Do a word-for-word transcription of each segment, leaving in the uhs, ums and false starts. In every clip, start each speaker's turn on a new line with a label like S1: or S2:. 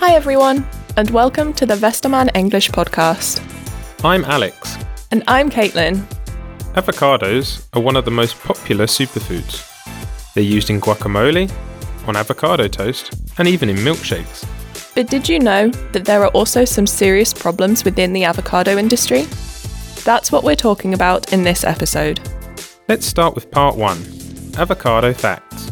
S1: Hi everyone, and welcome to the Westermann English podcast.
S2: I'm Alex.
S1: And I'm Caitlin.
S2: Avocados are one of the most popular superfoods. They're used in guacamole, on avocado toast, and even in milkshakes.
S1: But did you know that there are also some serious problems within the avocado industry? That's what we're talking about in this episode.
S2: Let's start with part one, avocado facts.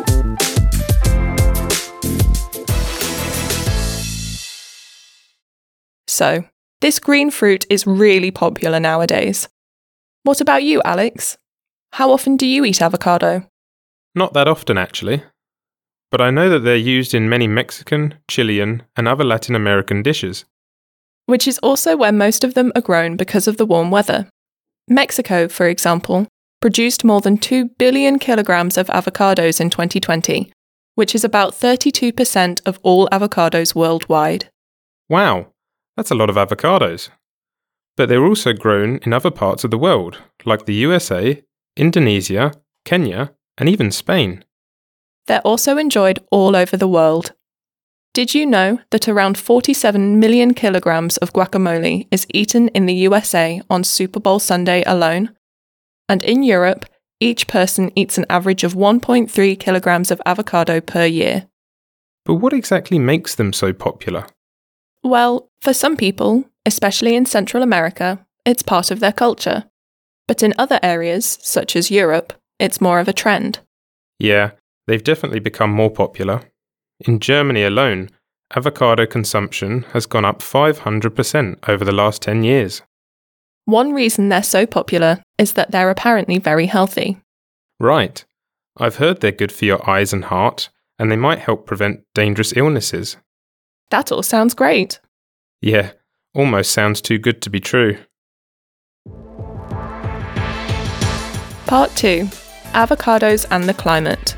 S1: So, this green fruit is really popular nowadays. What about you, Alex? How often do you eat avocado?
S2: Not that often, actually. But I know that they're used in many Mexican, Chilean, and other Latin American dishes.
S1: Which is also where most of them are grown because of the warm weather. Mexico, for example, produced more than two billion kilograms of avocados in twenty twenty, which is about thirty-two percent of all avocados worldwide.
S2: Wow, that's a lot of avocados. But they're also grown in other parts of the world, like the U S A, Indonesia, Kenya, and even Spain.
S1: They're also enjoyed all over the world. Did you know that around forty-seven million kilograms of guacamole is eaten in the U S A on Super Bowl Sunday alone? And in Europe, each person eats an average of one point three kilograms of avocado per year.
S2: But what exactly makes them so popular?
S1: Well, for some people, especially in Central America, it's part of their culture. But in other areas, such as Europe, it's more of a trend.
S2: Yeah, they've definitely become more popular. In Germany alone, avocado consumption has gone up five hundred percent over the last ten years.
S1: One reason they're so popular is that they're apparently very healthy.
S2: Right. I've heard they're good for your eyes and heart, and they might help prevent dangerous illnesses.
S1: That all sounds great.
S2: Yeah, almost sounds too good to be true.
S1: Part two. Avocados and the climate.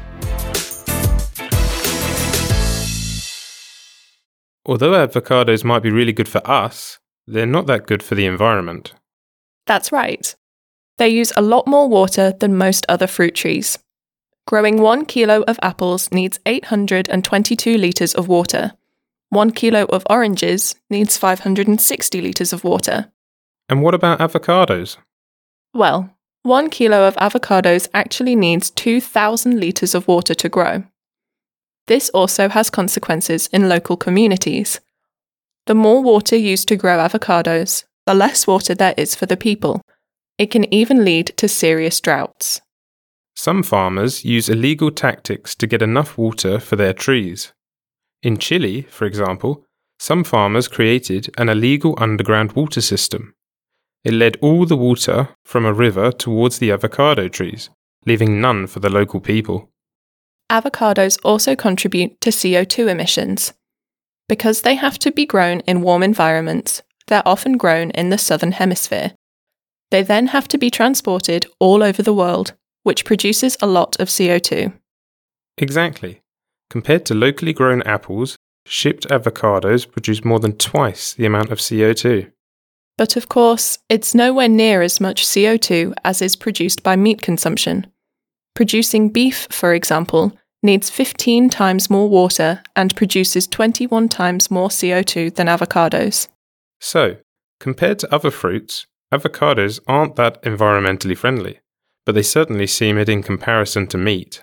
S2: Although avocados might be really good for us, they're not that good for the environment.
S1: That's right. They use a lot more water than most other fruit trees. Growing one kilo of apples needs eight hundred twenty-two litres of water. One kilo of oranges needs five hundred sixty litres of water.
S2: And what about avocados?
S1: Well, one kilo of avocados actually needs two thousand litres of water to grow. This also has consequences in local communities. The more water used to grow avocados, the less water there is for the people. It can even lead to serious droughts.
S2: Some farmers use illegal tactics to get enough water for their trees. In Chile, for example, some farmers created an illegal underground water system. It led all the water from a river towards the avocado trees, leaving none for the local people.
S1: Avocados also contribute to C O two emissions. Because they have to be grown in warm environments, they're often grown in the southern hemisphere. They then have to be transported all over the world, which produces a lot of C O two.
S2: Exactly. Compared to locally grown apples, shipped avocados produce more than twice the amount of C O two.
S1: But of course, it's nowhere near as much C O two as is produced by meat consumption. Producing beef, for example, needs fifteen times more water and produces twenty-one times more C O two than avocados.
S2: So, compared to other fruits, avocados aren't that environmentally friendly, but they certainly seem it in comparison to meat.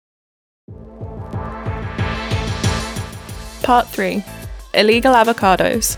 S1: Part three. Illegal avocados.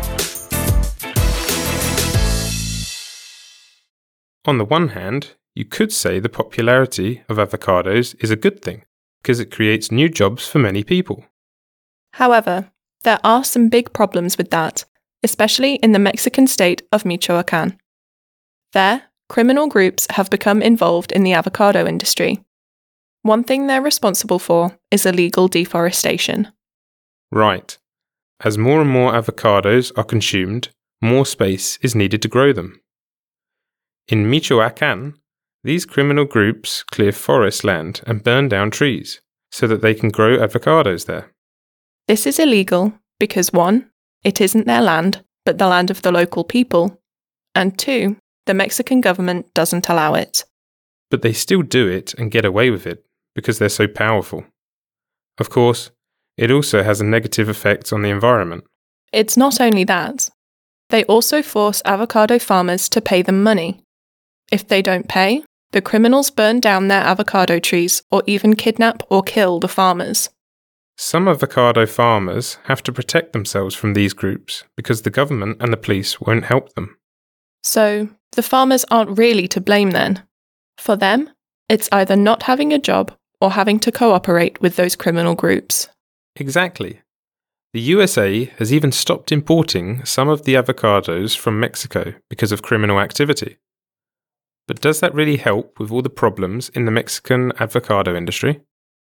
S2: On the one hand, you could say the popularity of avocados is a good thing, because it creates new jobs for many people.
S1: However, there are some big problems with that, especially in the Mexican state of Michoacán. There, criminal groups have become involved in the avocado industry. One thing they're responsible for is illegal deforestation.
S2: Right. As more and more avocados are consumed, more space is needed to grow them. In Michoacán, these criminal groups clear forest land and burn down trees so that they can grow avocados there.
S1: This is illegal because one, it isn't their land, but the land of the local people, and two, the Mexican government doesn't allow it.
S2: But they still do it and get away with it because they're so powerful. Of course, It also has a negative effect on the environment.
S1: It's not only that. They also force avocado farmers to pay them money. If they don't pay, the criminals burn down their avocado trees or even kidnap or kill the farmers.
S2: Some avocado farmers have to protect themselves from these groups because the government and the police won't help them.
S1: So, the farmers aren't really to blame then. For them, it's either not having a job or having to cooperate with those criminal groups.
S2: Exactly. The U S A has even stopped importing some of the avocados from Mexico because of criminal activity. But does that really help with all the problems in the Mexican avocado industry?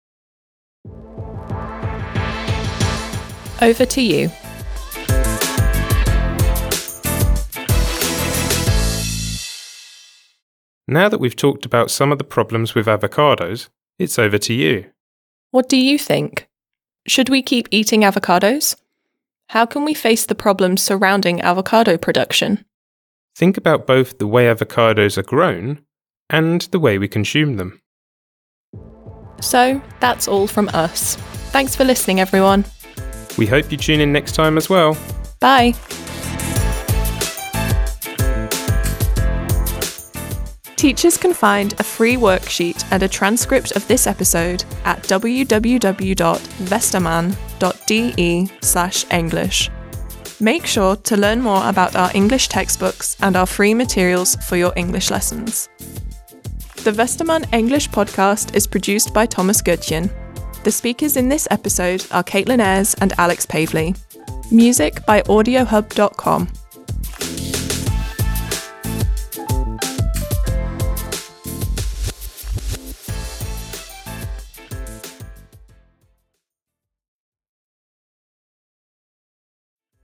S1: Over to you.
S2: Now that we've talked about some of the problems with avocados, it's over to you.
S1: What do you think? Should we keep eating avocados? How can we face the problems surrounding avocado production?
S2: Think about both the way avocados are grown and the way we consume them.
S1: So, that's all from us. Thanks for listening, everyone.
S2: We hope you tune in next time as well.
S1: Bye. Teachers can find a free worksheet and a transcript of this episode at w w w dot vesterman dot d e slash english. Make sure to learn more about our English textbooks and our free materials for your English lessons. The Vesterman English podcast is produced by Thomas Goodchen. The speakers in this episode are Caitlin Ayres and Alex Pavley. Music by audio hub dot com.